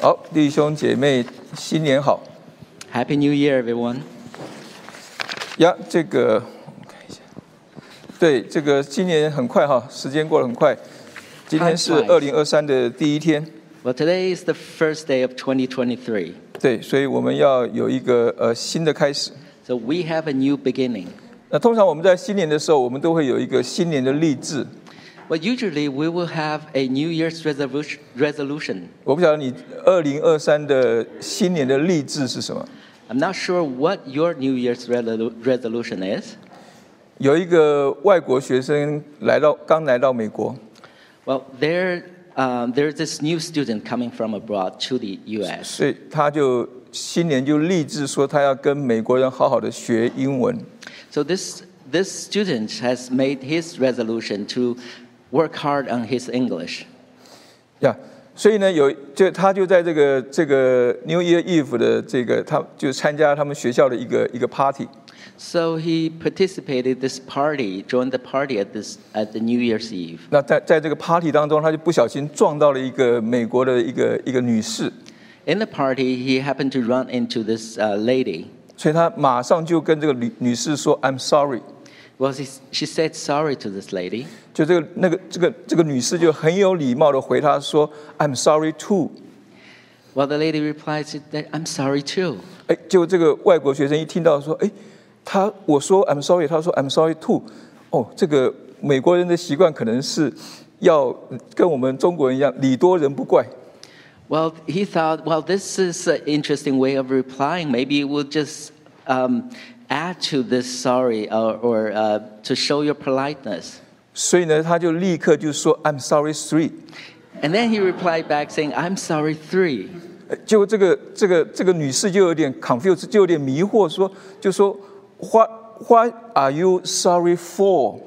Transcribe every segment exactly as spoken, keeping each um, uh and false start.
好，弟兄姐妹，新年好 Happy New Year, everyone. 呀！这个我们看一下，对，这个今年很快哈，时间过得很快。今天是二零二三的第一天。 Well, today is the first day of twenty twenty-three. 对，所以我们要有一个呃新的开始。 So we have a new beginning. 那通常我们在新年的时候，我们都会有一个新年的励志。 But usually we will have a New Year's resolution. resolution. 我不晓得你二零二三的新年的励志是什么。 I'm not sure what your New Year's resolu- resolution is. 有一个外国学生来到，刚来到美国。 Well, there, um, there's this new student coming from abroad to the U S. 所以他就新年就立志说，他要跟美国人好好的学英文。 So this this student has made his resolution to work hard on his English. 呀、yeah, 所以呢，有就他就在这个这个 New Year Eve 的这个，他就参加他们学校的一个一个 party。 So he participated this party, joined the party at this at the New Year's Eve. 那在在这个 party 当中，他就不小心撞到了一个美国的一个一个女士。 In the party, he happened to run into this uh, lady. 所以他马上就跟这个女女士说 "I'm sorry." Well, she, she said sorry to this lady. 就这个那个这个这个女士就很有礼貌的回答说 "I'm sorry too." Well, the lady replied that I'm sorry too. 哎，结果这个外国学生一听到说，哎，他我说 "I'm sorry"， 他说 "I'm sorry too"。哦，这个美国人的习惯可能是要跟我们中国人一样，礼多人不怪。 Well, he thought, well, this is an interesting way of replying. Maybe we'll just um, add to this sorry or, or uh, to show your politeness. 所以呢，他就立刻就说 "I'm sorry three." And then he replied back saying, I'm sorry three. 结果这个这个这个女士就有点 confused， 就有点迷惑，说就说 What What are you sorry for?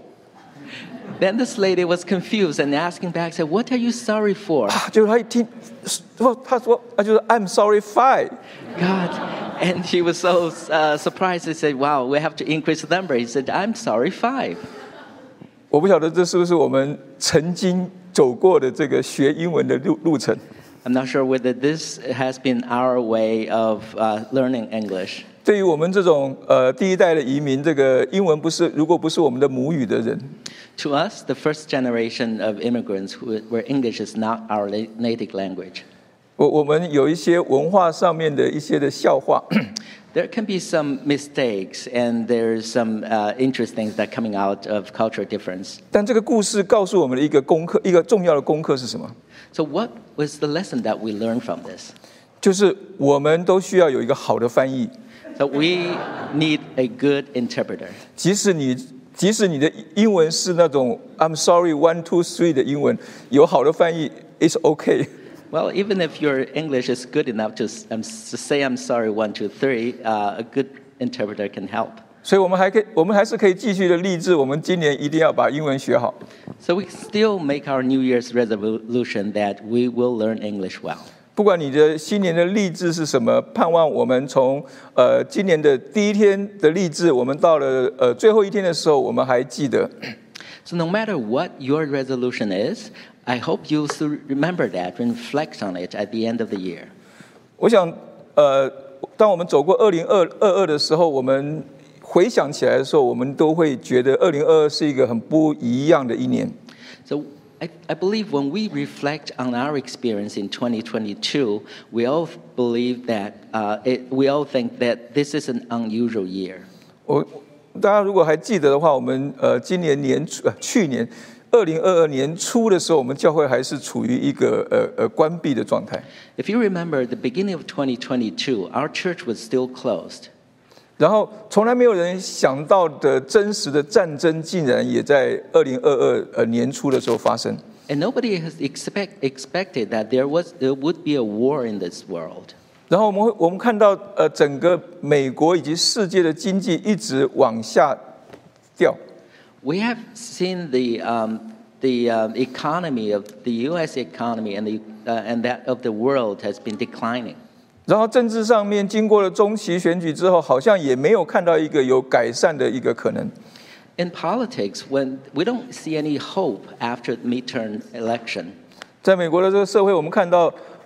Then this lady was confused and asking back, said, What are you sorry for? 啊，结果他一听，说他说他就说 I'm sorry five. God. And he was so uh, surprised. He said, wow, we have to increase the number. He said, I'm sorry five. 我不晓得这是不是我们曾经走过的这个学英文的路路程。 I'm not sure whether this has been our way of uh, learning English. 对于我们这种呃第一代的移民，这个英文不是如果不是我们的母语的人， To us, the first generation of immigrants who, where English is not our native language. 我我们有一些文化上面的一些的笑话。 There can be some mistakes and there's some uh, interesting things that coming out of cultural difference. 但这个故事告诉我们的一个功课，一个重要的功课是什么？ So what was the lesson that we learned from this? 就是我们都需要有一个好的翻译。 So we need a good interpreter. 即使你即使你的英文是那种 I'm sorry one two three 的英文，有好的翻译 it's okay。 Well, even if your English is good enough to, um, to say I'm sorry one two three, uh, a good interpreter can help. 所以我们还可以，我们还是可以继续的励志，我们今年一定要把英文学好。 So we still make our New Year's resolution that we will learn English well. 不管你的新年的励志是什么，盼望我们从呃今年的第一天的励志，我们到了呃最后一天的时候，我们还记得。 So no matter what your resolution is, I hope you'll still remember that and reflect on it at the end of the year. 我想，呃，当我们走过二零二二的时候，我们回想起来的时候，我们都会觉得二零二二是一个很不一样的一年。 So I, I believe when we reflect on our experience in twenty twenty-two, we all believe that uh, it, we all think that this is an unusual year. 我大家如果还记得的话，我们呃今年年初呃去年二零二二年初的时候，我们教会还是处于一个呃呃关闭的状态。 If you remember, at the beginning of twenty twenty-two, our church was still closed. 然后从来没有人想到的真实的战争，竟然也在二零二二呃年初的时候发生。 And nobody has expect, expected that there was there would be a war in this world. 然后我们会我们看到呃整个美国以及世界的经济一直往下掉。 We have seen the um, the um, economy of the U S economy and the uh, and that of the world has been declining. 然后政治上面经过了中期选举之后，好像也没有看到一个有改善的一个可能。 In politics, when we don't see any hope after the midterm election. 在美国的这个社会，我们看到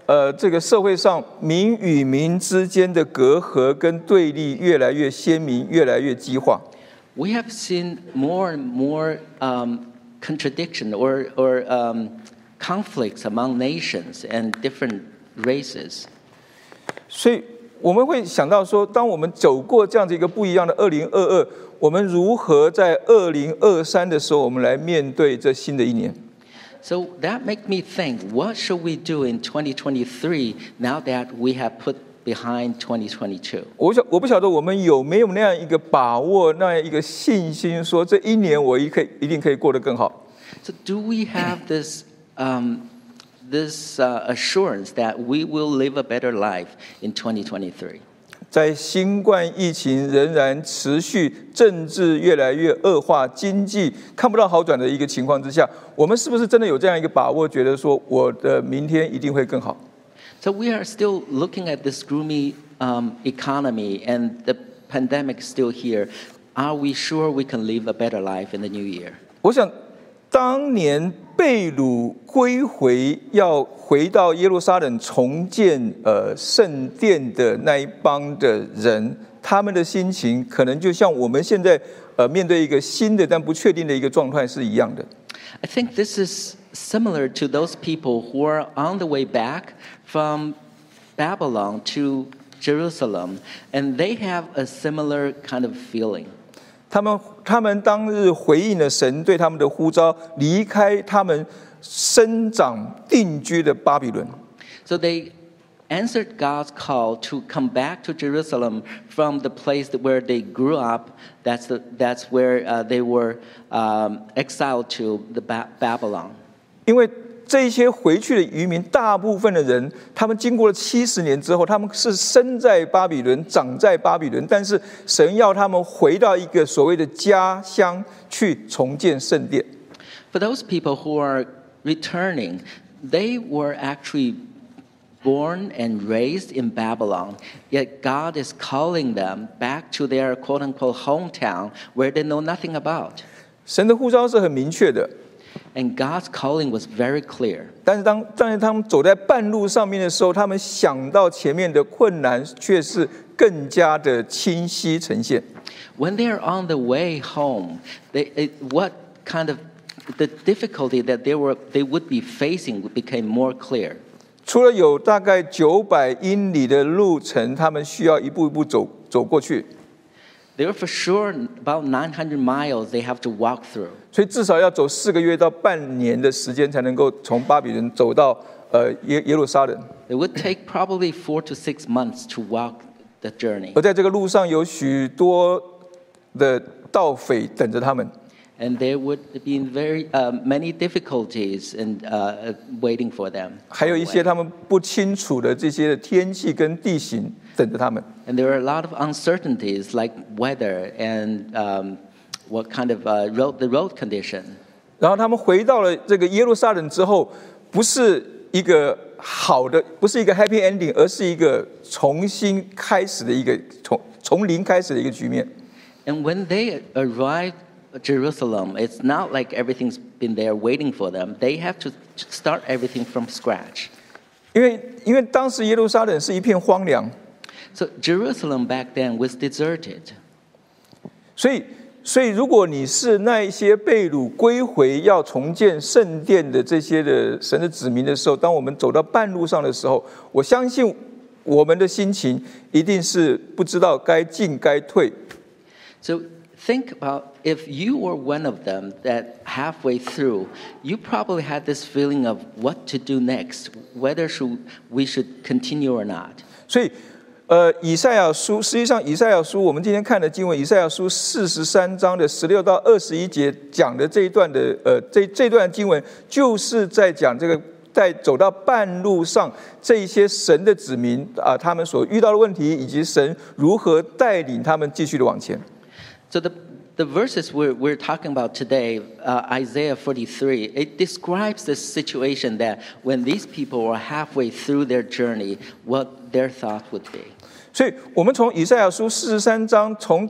呃这个社会上民与民之间的隔阂跟对立越来越鲜明，越来越激化。 We have seen more and more um, contradiction or, or um, conflicts among nations and different races. 所以我们会想到说，当我们走过这样子一个不一样的二零二二，我们如何在二零二三的时候，我们来面对这新的一年。 So that makes me think, what should we do in twenty twenty-three now that we have put behind twenty twenty-two? 我想我不晓得我们有没有那样一个把握，那样一个信心，说这一年我一可以一定可以过得更好。 So do we have this um, this uh, assurance that we will live a better life in twenty twenty-three? 在新冠疫情仍然持续、政治越来越恶化、经济看不到好转的一个情况之下，我们是不是真的有这样一个把握，觉得说我的明天一定会更好？ So we are still looking at this gloomy um, economy and the pandemic is still here. Are we sure we can live a better life in the new year? 我想，当年被掳归回，要回到耶路撒冷重建呃圣殿的那一帮的人，他们的心情可能就像我们现在呃面对一个新的但不确定的一个状态是一样的。 I think this is similar to those people who are on the way back from Babylon to Jerusalem, and they have a similar kind of feeling. 他们他们当日回应了神对他们的呼召，离开他们生长定居的巴比伦。 So they answered God's call to come back to Jerusalem from the place where they grew up. That's the, that's where uh, they were um, exiled to the ba- Babylon. 因为这些回去的渔民，大部分的人，他们经过了七十年之后，他们是生在巴比伦，长在巴比伦，但是神要他们回到一个所谓的家乡去重建圣殿。 For those people who are returning, they were actually born and raised in Babylon, yet God is calling them back to their quote-unquote hometown where they know nothing about. 神的呼召是很明确的。 And God's calling was very clear. 但是当但是他们走在半路上面的时候，他们想到前面的困难，却是更加的清晰呈现。 When they are on the way home, they, it, what kind of the difficulty that they were they would be facing became more clear. 除了有大概九百英里的路程，他们需要一步一步走走过去。 They were for sure about nine hundred miles they have to walk through. 所以至少要走四个月到半年的时间，才能够从巴比伦走到呃耶耶路撒冷。 It would take probably four to six months to walk the journey. 而在这个路上有许多的盗匪等着他们。 And there would be very uh, many difficulties in uh, waiting for them. 还有一些他们不清楚的这些天气跟地形等着他们。 And there are a lot of uncertainties like weather and um, what kind of uh, road, the road condition. 然后他们回到了这个耶路撒冷之后，不是一个好的，不是一个 happy ending， 而是一个重新开始的一个从从零开始的一个局面。 And when they arrived Jerusalem, it's not like everything's been there waiting for them. They have to start everything from scratch. 因为因为当时耶路撒冷是一片荒凉， So Jerusalem back then was deserted. 所以所以如果你是那一些被掳归回要重建圣殿的这些的神的子民的时候，当我们走到半路上的时候，我相信我们的心情一定是不知道该进该退。 So think about if you were one of them that halfway through, you probably had this feeling of what to do next, whether should, we should continue or not. 所以，呃，以赛亚书实际上，以赛亚书我们今天看的经文，以赛亚书四十三章的十六到二十一节讲的这一段的，呃，这这段经文就是在讲这个在走到半路上这一些神的子民啊、呃，他们所遇到的问题，以及神如何带领他们继续的往前。 So the, the verses we're, we're talking about today, uh, Isaiah forty-three, it describes this situation that when these people were halfway through their journey, what their thought would be. 所以，我们从以赛亚书四十三章，从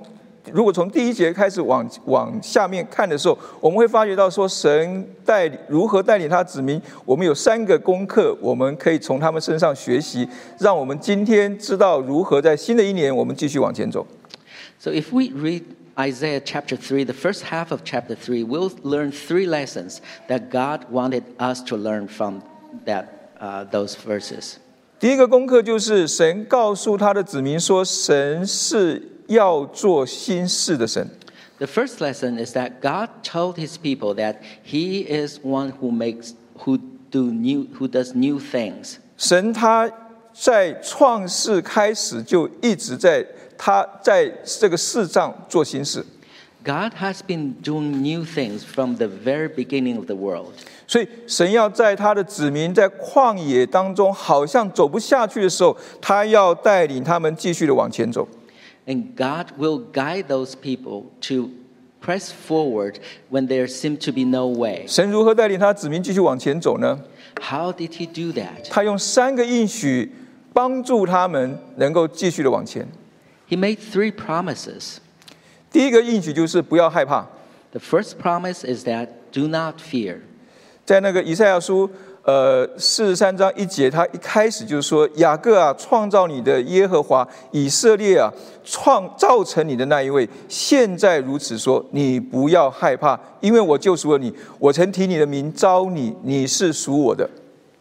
如果从第一节开始往往下面看的时候，我们会发觉到说，神带领如何带领他子民。我们有三个功课，我们可以从他们身上学习，让我们今天知道如何在新的一年我们继续往前走。 So if we read Isaiah chapter three, the first half of chapter three, we'll learn three lessons that God wanted us to learn from that uh, those verses. 第一个功课就是神告诉他的子民说，神是要做新事的神。 The first lesson is that God told His people that He is one who makes, who do new, who does new things. 神他在创世开始就一直在他在这个世上做新事。 God has been doing new things from the very beginning of the world. 所以神要在他的子民在旷野当中好像走不下去的时候，他要带领他们继续的往前走。 And God will guide those people to press forward when there seems to be no way. 神如何带领他子民继续往前走呢？ How did He do that? 他用三个应许帮助他们能够继续的往前。 He made three promises. 第一个应许就是不要害怕。 The first promise is that do not fear. 在那个以赛亚书呃四十三章一节，他一开始就说：雅各啊，创造你的耶和华，以色列啊，创造成你的那一位，现在如此说，你不要害怕，因为我救赎了你，我曾提你的名召你，你是属我的。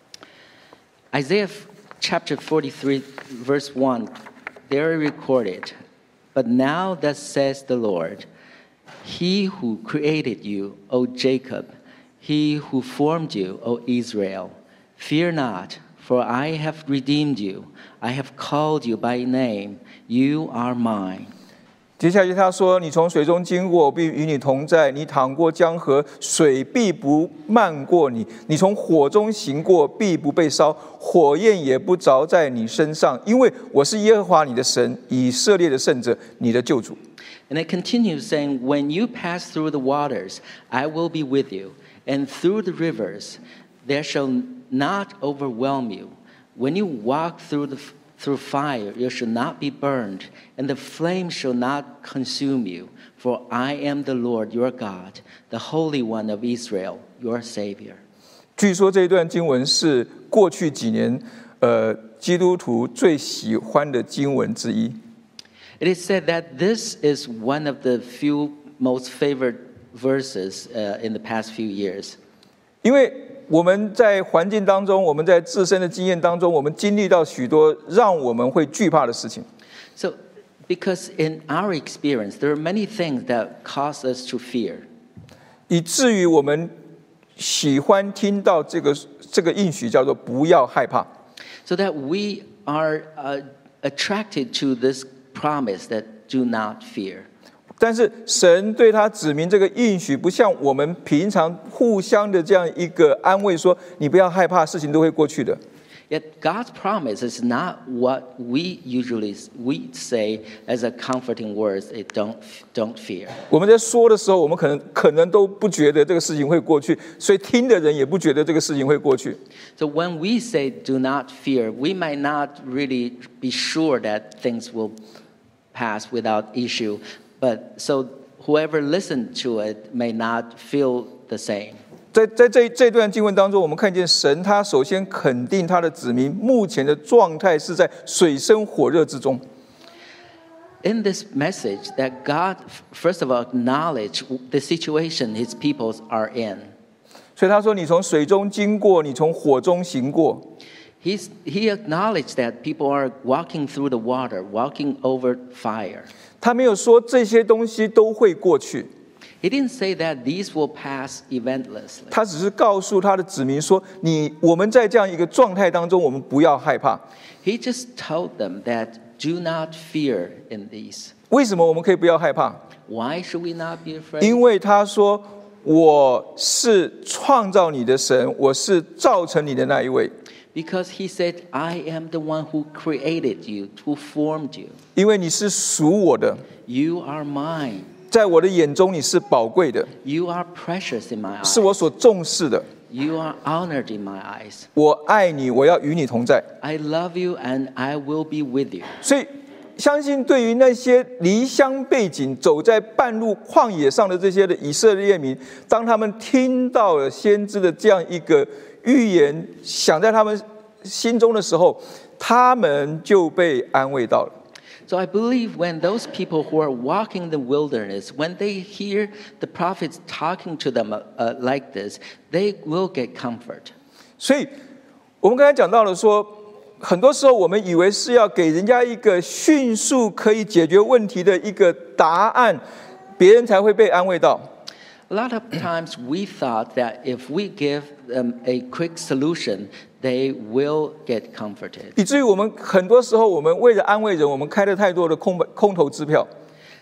Isaiah chapter forty-three, verse one, there recorded, but now thus says the Lord, He who created you, O Jacob, He who formed you, O Israel, fear not, for I have redeemed you. I have called you by name. You are mine. 接下来他说：你从水中经过，我必与你同在；你淌过江河，水必不漫过你；你从火中行过，必不被烧，火焰也不着在你身上，因为我是耶和华你的神，以色列的圣者，你的救主。 And it continues saying, when you pass through the waters, I will be with you. And through the rivers, there shall not overwhelm you. When you walk through the through fire, you shall not be burned, and the flame shall not consume you. For I am the Lord your God, the Holy One of Israel, your Savior. 据说这一段经文是过去几年呃基督徒最喜欢的经文之一。 It is said that this is one of the few most favored verses uh, in the past few years. 因为我们在环境当中，我们在自身的经验当中，我们经历到许多让我们会惧怕的事情。 So, because in our experience, there are many things that cause us to fear. 以至于我们喜欢听到这个这个应许叫做不要害怕。 So that we are uh, attracted to this promise that do not fear. 但是神对他指明这个应许，不像我们平常互相的这样一个安慰，说你不要害怕，事情都会过去的。 Yet God's promise is not what we usually we say as a comforting words. It don't don't fear. 我们在说的时候，我们可能可能都不觉得这个事情会过去，所以听的人也不觉得这个事情会过去。 So when we say do not fear, we might not really be sure that things will pass without issue. But so whoever listened to it may not feel the same. 在在这这段经文当中，我们看见神他首先肯定他的子民目前的状态是在水深火热之中。 In this message, that God first of all acknowledged the situation His peoples are in. 所以他说：“你从水中经过，你从火中行过。” He's, he acknowledged that people are walking through the water, walking over fire. 他没有说这些东西都会过去， He didn't say that these will pass eventlessly. 他只是告诉他的子民说：“你我们在这样一个状态当中，我们不要害怕。 He just told them that do not fear in these. 为什么我们可以不要害怕？ Why should we not be afraid? 因为他说我是创造你的神，我是造成你的那一位。 Because He said, I am the one who created you, who formed you. 因为你是属我的， You are mine. 在我的眼中你是宝贵的， You are precious in my 是我 eyes. 所重视的。 You are honored in my eyes. 我爱你，我要与你同在。” I love you and I will be with you. 所以相信对于那些离乡背井、走在半路旷野上的这些的以色列民，当他们听到了先知的这样一个预言，想在他们心中的时候，他们就被安慰到了。 So I believe when those people who are walking the wilderness, when they hear the prophets talking to them uh, like this, they will get comfort. 所以我们刚才讲到了说，很多时候我们以为是要给人家一个迅速可以解决问题的一个答案，别人才会被安慰到。 A lot of times we thought that if we give them a quick solution, they will get comforted. 以至于我们很多时候，我们为了安慰人，我们开了太多的空空头支票。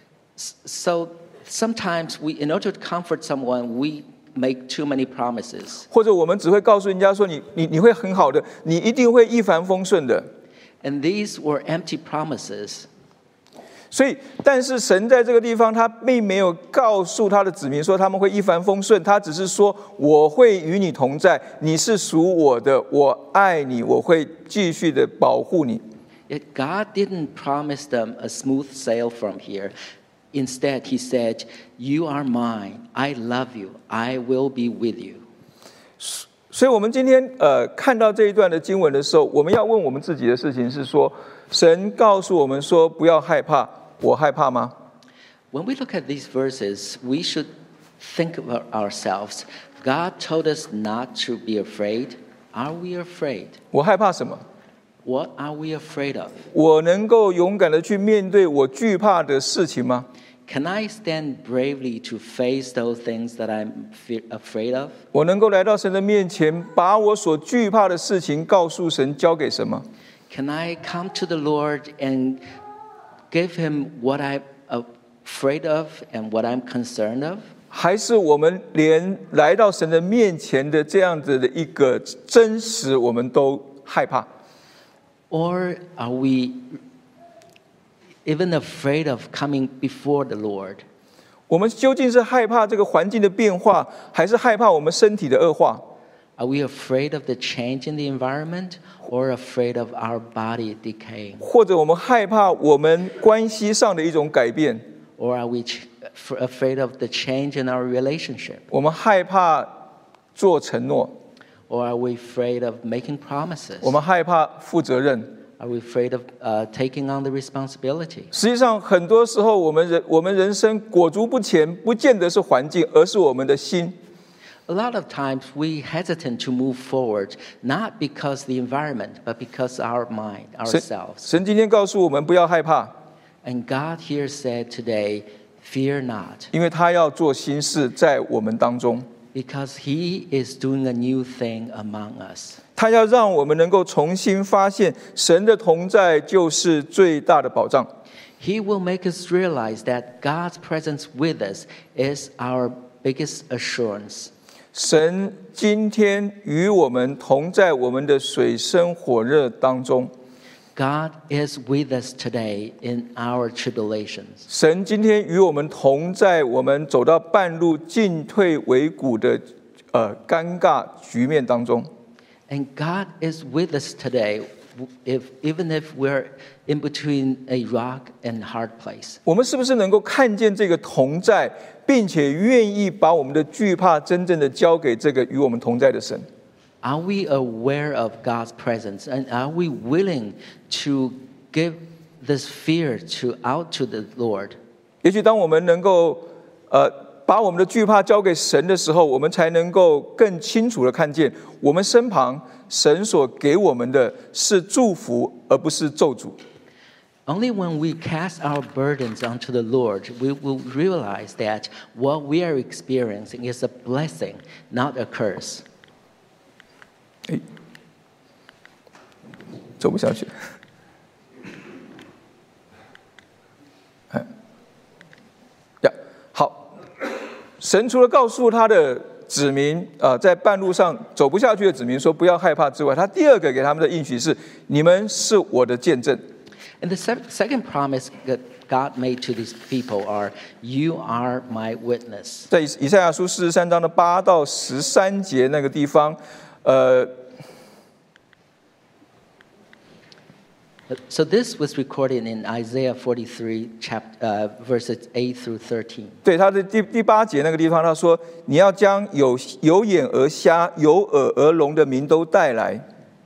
So sometimes we, in order to comfort someone, we make too many promises. 或者我们只会告诉人家说你你你会很好的，你一定会一帆风顺的。 And these were empty promises. 所以，但是神在这个地方，他并没有告诉他的子民说他们会一帆风顺，他只是说我会与你同在，你是属我的，我爱你，我会继续的保护你。 Yet God didn't promise them a smooth sail from here. Instead, He said, "You are mine. I love you. I will be with you." 所以，我们今天呃看到这一段的经文的时候，我们要问我们自己的事情是说，神告诉我们说不要害怕。我害怕吗？ When we look at these verses, we should think about ourselves. God told us not to be afraid. Are we afraid? 我害怕什么？ What are we afraid of? 我能够勇敢的去面对我惧怕的事情吗？ Can I stand bravely to face those things that I'm fe- afraid of? 我能够来到神的面前，把我所惧怕的事情告诉神，交给神吗？ Can I come to the Lord and give Him what I'm afraid of and what I'm concerned of? 还是我们连来到神的面前的这样子的一个真实，我们都害怕？ Or are we even afraid of coming before the Lord? 我们究竟是害怕这个环境的变化，还是害怕我们身体的恶化？ Are we afraid of the change in the environment or afraid of our body decaying? 或者我们害怕我们关系上的一种改变？ Or are we ch- afraid of the change in our relationship? 我们害怕做承诺？ Or are we afraid of making promises? 我们害怕负责任？ Are we afraid of uh, taking on the responsibility? 实际上，很多时候我们人我们人生裹足不前，不见得是环境，而是我们的心。 A lot of times we hesitate to move forward, not because the environment, but because our mind, 神 ourselves. 神今天告诉我们不要害怕， And God here said today, fear not, 因为他要做新事在我们当中， because He is doing a new thing among us. 他要让我们能够重新发现神的同在就是最大的保障。 He will make us realize that God's presence with us is our biggest assurance. 神今天与我们同在我们的水深火热当中， God is with us today in our tribulations. 神今天与我们同在我们走到半路进退维谷的呃尴尬局面当中。 And God is with us today, if, even if we're in between a rock and hard place. 我们是不是能够看见这个同在，并且愿意把我们的惧怕真正的交给这个与我们同在的神？ Are we aware of God's presence? And are we willing to give this fear to out to the Lord? 也许当我们能够呃把我们的惧怕交给神的时候，我们才能够更清楚的看见我们身旁神所给我们的是祝福，而不是咒诅。 Only when we cast our burdens onto the Lord, we will realize that what we are experiencing is a blessing, not a curse. 哎，走不下去。哎，呀，好。神除了告诉他的子民啊、呃，在半路上走不下去的子民说不要害怕之外，他第二个给他们的应许是：你们是我的见证。 And the se- second promise that God made to these people are, "You are my witness." 在以以赛亚书四十三章的八到十三节那个地方，呃， So this was recorded in Isaiah forty-three, chapter, uh, verses eight through thirteen. 对，他的第第八节那个地方，他说：“你要将有有眼而瞎、有耳而聋的民都带来。”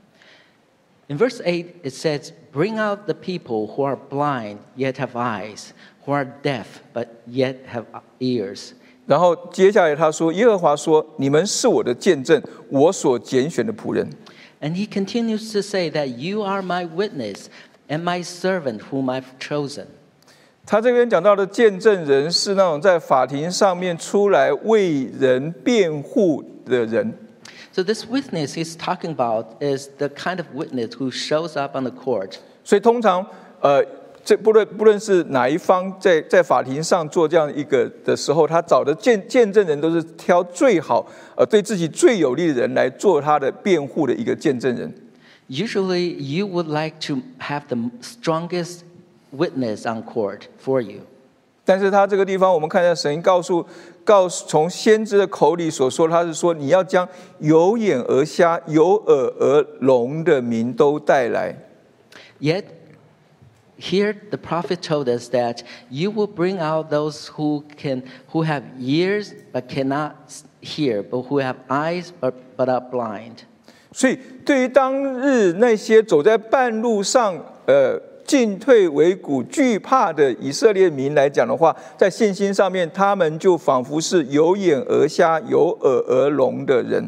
In verse eight, it says, "Bring out the people who are blind yet have eyes, who are deaf but yet have ears." 然后接下来他说：“耶和华说，你们是我的见证，我所拣选的仆人。” And he continues to say that you are my witness and my servant whom I've chosen. 他这边讲到的见证人是那种在法庭上面出来为人辩护的人。 So this witness he's talking about is the kind of witness who shows up on the court. 所以通常，呃，这不论不论是哪一方在在法庭上做这样一个的时候，他找的见见证人都是挑最好，呃，对自己最有利的人来做他的辩护的一个见证人。 Usually, you would like to have the strongest witness on court for you. 但是他这个地方，我们看见神告诉告诉从先知的口里所说，他是说你要将有眼而瞎、有耳而聋的民都带来。 Yet, here the prophet told us that you will bring out those who can, who have ears but cannot hear, but who have eyes but, but are blind. 所以，对于当日那些走在半路上，呃。进退维谷、惧怕的以色列民来讲的话，在信心上面，他们就仿佛是有眼而瞎、有耳而聋的人。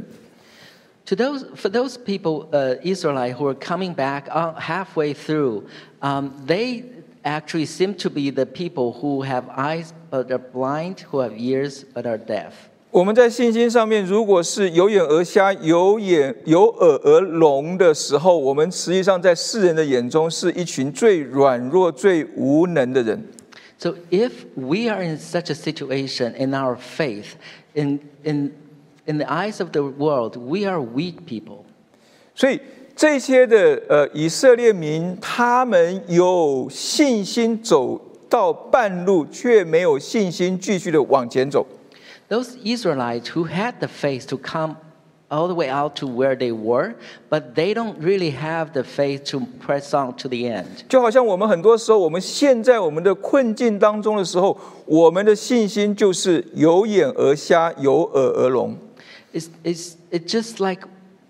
To those, for those people, uh, Israelites who are coming back halfway through, um, they actually seem to be the people who have eyes but are blind, who have ears but are deaf. 我们在信心上面，如果是有眼而瞎、有眼有耳而聋的时候，我们实际上在世人的眼中是一群最软弱、最无能的人。 So if we are in such a situation in our faith, in in in the eyes of the world, we are weak people. 所以这些的呃以色列民，他们有信心走到半路，却没有信心继续的往前走。 Those Israelites who had the faith to come all the way out to where they were, but they don't really have the faith to press on to the end. 就好像我们很多时候，我们现在我们的困境当中的时候，我们的信心就是有眼而瞎，有耳而聋。 It's, it's, it's just like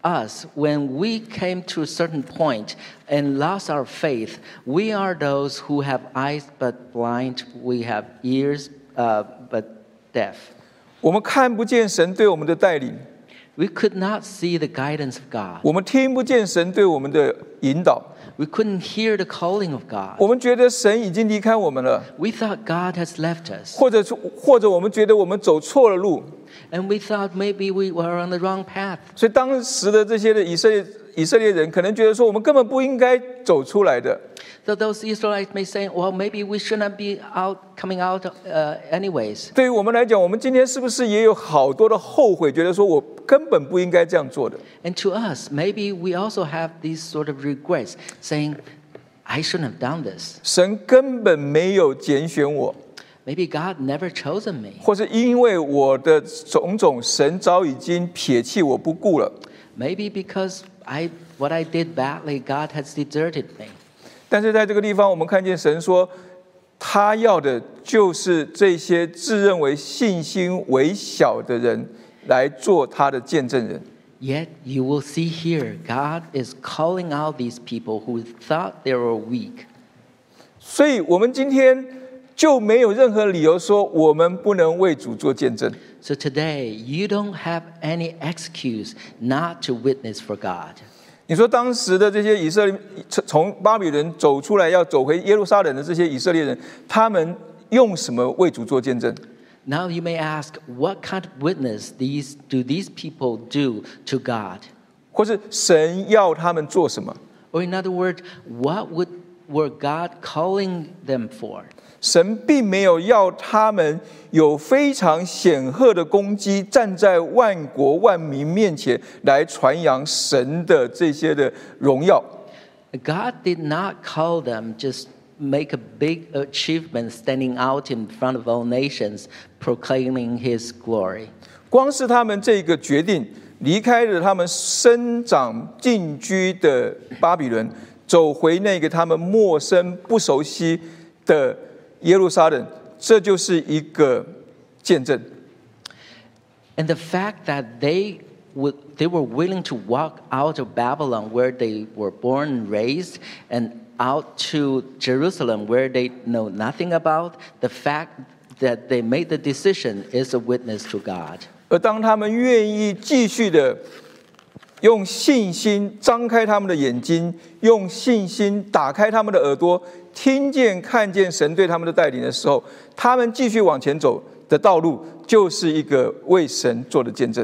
us when we came to a certain point and lost our faith. We are those who have eyes but blind, we have ears uh, but deaf. 我们看不见神对我们的带领， We could not see the guidance of God. 我们听不见神对我们的引导， We couldn't hear the calling of God. 我们觉得神已经离开我们了， We thought God has left us. 或者或者我们觉得我们走错了路， And we thought maybe we were on the wrong path. 所以当时的这些的以色列以色列人可能觉得说，我们根本不应该走出来的。 So those Israelites may say, well, maybe we shouldn't be out, coming out uh, anyways. 对于我们来讲，我们今天是不是也有好多的后悔，觉得说我根本不应该这样做的？ And to us, maybe we also have these sort of regrets, saying, I shouldn't have done this. 神根本没有拣选我， Maybe God never chosen me. 或是因为我的种种，神早已经撇弃我不顾了。 Maybe because I, what I did badly, God has deserted me. 但是在这个地方，我们看见神说，他要的就是这些自认为信心微小的人来做他的见证人。 Yet you will see here, God is calling out these people who thought they were weak. 所以，我们今天就没有任何理由说我们不能为主做见证。 So today, you don't have any excuse not to witness for God. 你说当时的这些以色列从巴比伦走出来要走回耶路撒冷的这些以色列人，他们用什么为主做见证？ Now you may ask, what kind of witness these do these people do to God? 或是神要他们做什么？ Or in other words, what would were God calling them for? 神并没有要他们有非常显赫的功绩，站在万国万民面前来传扬神的这些的荣耀。 God did not call them just make a big achievement standing out in front of all nations proclaiming his glory. 光是他们这个决定离开了他们生长定居的巴比伦， 走回那个他们陌生不熟悉的耶路撒冷，这就是一个见证。 And the fact that they would, they were willing to walk out of Babylon, where they were born and raised, and out to Jerusalem, where they know nothing about, the fact that they made the decision is a witness to God. 而当他们愿意继续的用信心张开他们的眼睛，用信心打开他们的耳朵，听见看见神对他们的带领的时候，他们继续往前走的道路就是一个为神做的见证。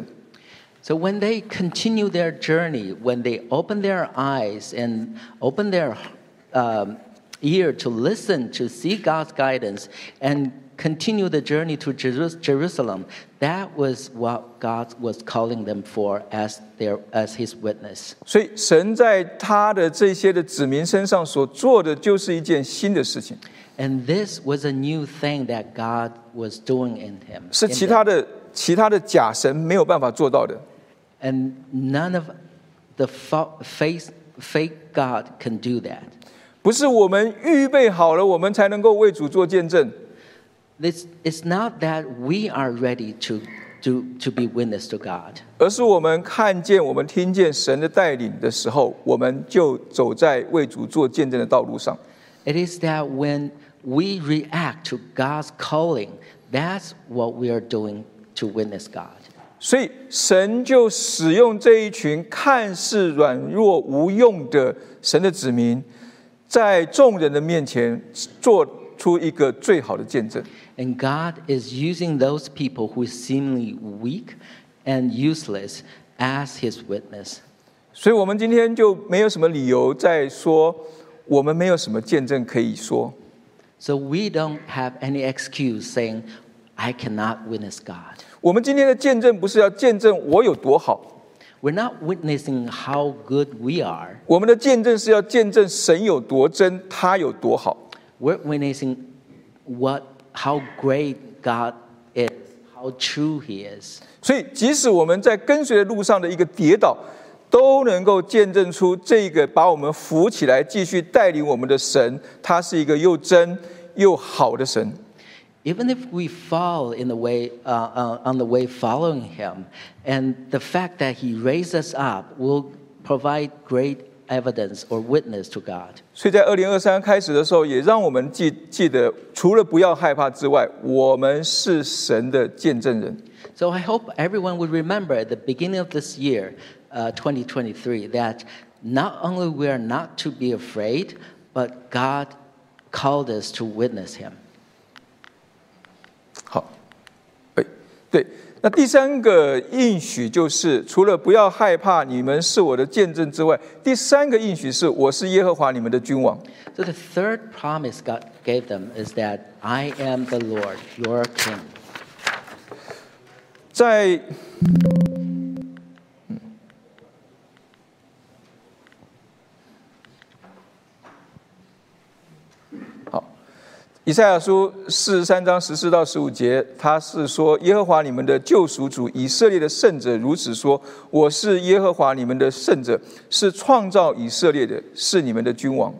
So when they continue their journey, when they open their eyes and open their um, ear to listen, to see God's guidance, and continue the journey to Jerusalem, that was what God was calling them for as their as His witness. 所以神在他的这些的子民身上所做的，就是一件新的事情。 And this was a new thing that God was doing in him. 是其他的其他的假神没有办法做到的。 And none of the fake fake God can do that. 不是我们预备好了，我们才能够为主做见证。 It's it's not that we are ready to to to be witness to God. 而是我们看见、我们听见神的带领的时候，我们就走在为主做见证的道路上。 It is that when we react to God's calling, that's what we are doing to witness God. 所以神就使用这一群看似软弱无用的神的子民，在众人的面前做出一个最好的见证。 And God is using those people who is seemingly weak and useless as His witness. 所以我们今天就没有什么理由再说我们没有什么见证可以说。 So we don't have any excuse saying, I cannot witness God. 我们今天的见证不是要见证我有多好， We're not witnessing how good we are. 我们的见证是要见证神有多真，他有多好。 We're witnessing what, how great God is, how true He is. 所以即使我们在跟随的路上的一个跌倒，都能够见证出这个把我们扶起来继续带领我们的神，他是一个又真又好的神。 Even if we fall in the way, uh, uh, on the way following Him, and the fact that He raised us up will provide great evidence or witness to God. 所以在二零二三开始的时候，也让我们记记得，除了不要害怕之外，我们是神的见证人。 So I hope everyone would remember at the beginning of this year, uh, twenty twenty-three, that not only we are not to be afraid, but God called us to witness Him. 好，哎，对，那第三个应许就是，除了不要害怕，你们是我的见证之外，第三个应许是，我是耶和华你们的君王。 So the third promise God gave them is that I am the Lord, your King. 在以赛亚书四十三章十四到十五节，他是说：耶和华你们的救赎主，以色列的圣者如此说：我是耶和华你们的圣者，是创造以色列的，是你们的君王。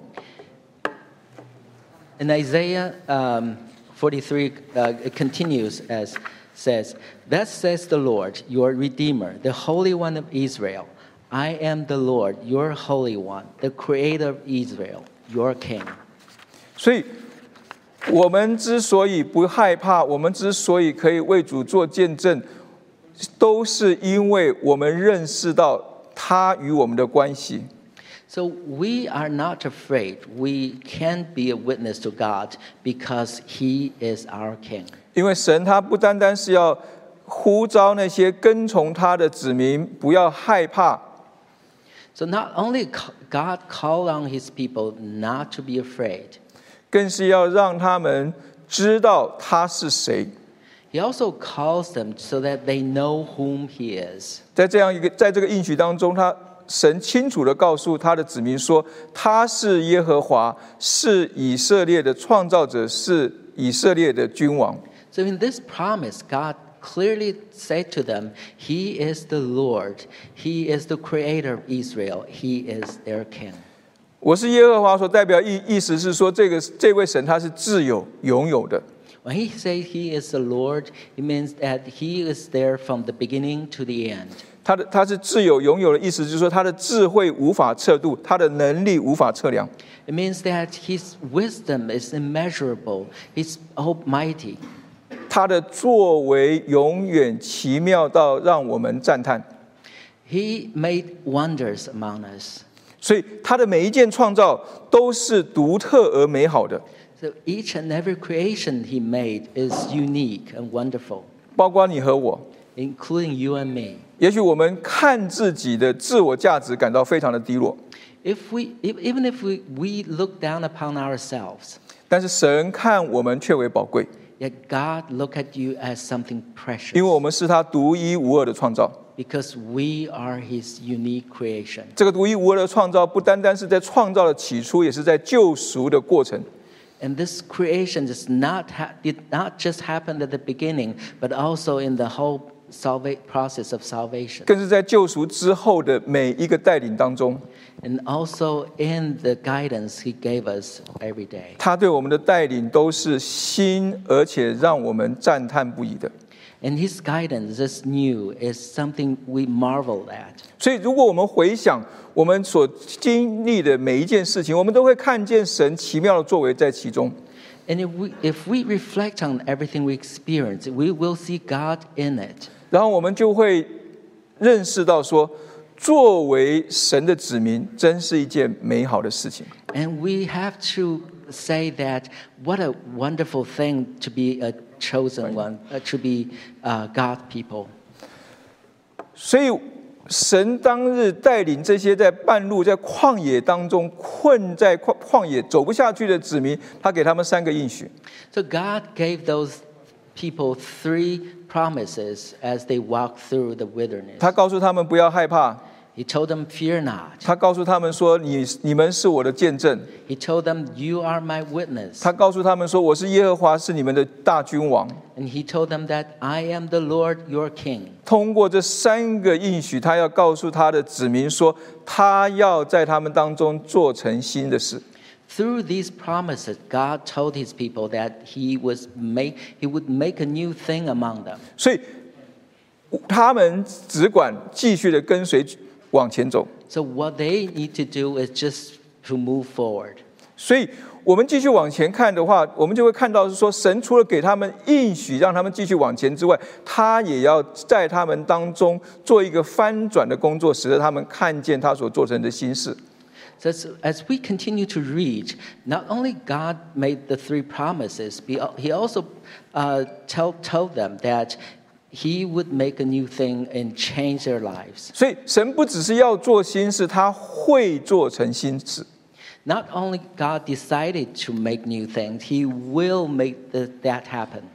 In Isaiah um, forty-three, uh, it continues as says, "Thus says the Lord, your Redeemer, the Holy One of Israel. I am the Lord, your Holy One, the Creator of Israel, your King." 所以，我们之所以不害怕，我们之所以可以为主做见证，都是因为我们认识到他与我们的关系。 So we are not afraid. We can be a witness to God because He is our King. 因为神他不单单是要呼召那些跟从他的子民不要害怕， So not only God called on His people not to be afraid, 更是要让他们知道他是谁。 He also calls them so that they know whom He is. 在这样一个在这个应许当中，他神清楚地告诉他的子民说，他是耶和华，是以色列的创造者，是以色列的君王。 So in this promise, God clearly said to them, He is the Lord. He is the creator of Israel. He is their king. 我是耶和华所代表意意思是说，这个这位神他是自有拥有的。 When he says he is the Lord, it means that he is there from the beginning to the end. 他的他是自有拥有的意思，就是说他的智慧无法测度，他的能力无法测量。 It means that his wisdom is immeasurable. He's almighty. 他的作为永远奇妙到让我们赞叹。 He made wonders among us. 所以他的每一件创造都是独特而美好的。 So each and every creation he made is unique and wonderful, 包括你和我。 including you and me. 也许我们看自己的自我价值感到非常的低落。 If we, even if we, we look down upon ourselves, 但是神看我们却为宝贵， yet God look at you as something precious. 因为我们是他独一无二的创造。 Because we are his unique creation. 这个独一无二的创造，不单单是在创造的起初，也是在救赎的过程。 And this creation does not ha- did not just happen at the beginning, but also in the whole salva- process of salvation. 更是在救赎之后的每一个带领当中， And also in the guidance he gave us every day. 他对我们的带领都是新，而且让我们赞叹不已的。 And his guidance is new, is something we marvel at. 所以，如果我们回想我们所经历的每一件事情，我们都会看见神奇妙的作为在其中。 And if we, if we reflect on everything we experience, we will see God in it. 然后我们就会认识到说，作为神的子民，真是一件美好的事情。 And we have to say that what a wonderful thing to be a chosen one, uh, to be uh, God people. 所以，神当日带领这些在半路、在旷野当中困在旷旷野走不下去的子民，他给他们三个应许。 So God gave those people three promises as they walked through the wilderness. 他告诉他们不要害怕， He told them, "Fear not." 他告诉他们说：“你你们是我的见证。” He told them, "You are my witness." 他告诉他们说：“我是耶和华，是你们的大君王。” And he told them that I am the Lord your king. 通过这三个应许，他要告诉他的子民说，他要在他们当中做成新的事。 Through these promises, God told his people that he was make he would make a new thing among them. 所以他们只管继续的跟随往前走。 So what they need to do is just to move forward. 所以我们继续往前看的话，我们就会看到是说，神除了给他们应许让他们继续往前之外，他也要在他们当中做一个翻转的工作，使得他们看见他所做成的新事。 So as, as we continue to read, not only God made the three promises, but he also uh, tell, told them that he would make a new thing and change their lives. 所以神不只是要做新事，他会做成新事。 Not only God decided to make new things, he will make the, that happen.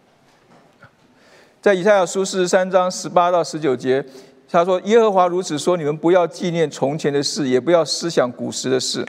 在以赛亚书四十三章十八到十九节，他说：“耶和华如此说，你们不要纪念从前的事，也不要思想古时的事。”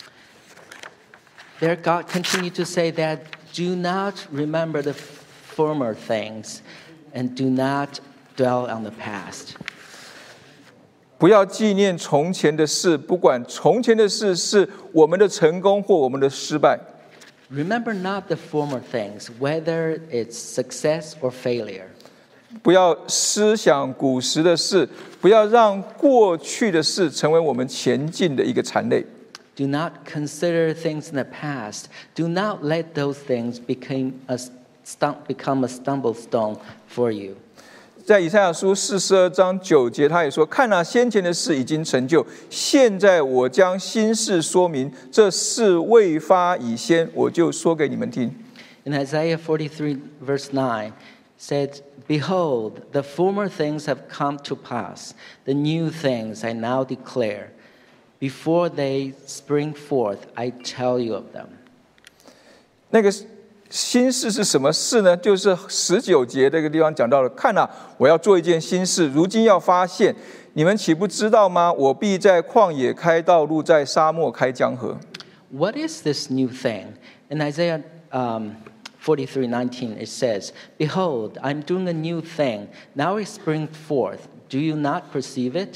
There God continued to say that, do not remember the former things and do not dwell on the past. 不要纪念从前的事，不管从前的事是我们的成功或我们的失败。 Remember not the former things, whether it's success or failure. 不要思想古时的事，不要让过去的事成为我们前进的一个缠累。 Do not consider things in the past. Do not let those things become a, stum- become a stumble stone for you. 在以赛亚书四十二章九节，他也说：“看啊，先前的事已经成就，现在我将新事说明。这事未发以先，我就说给你们听。” In Isaiah forty-three, verse nine, said, "Behold, the former things have come to pass. The new things I now declare. Before they spring forth, I tell you of them." 那个新事是什么事呢？就是十九节这个地方讲到了。看啊，我要做一件新事，如今要发现，你们岂不知道吗？我必在旷野开道路，在沙漠开江河。 What is this new thing? In Isaiah um, forty-three nineteen, it says, "Behold, I'm doing a new thing. Now it springs forth. Do you not perceive it?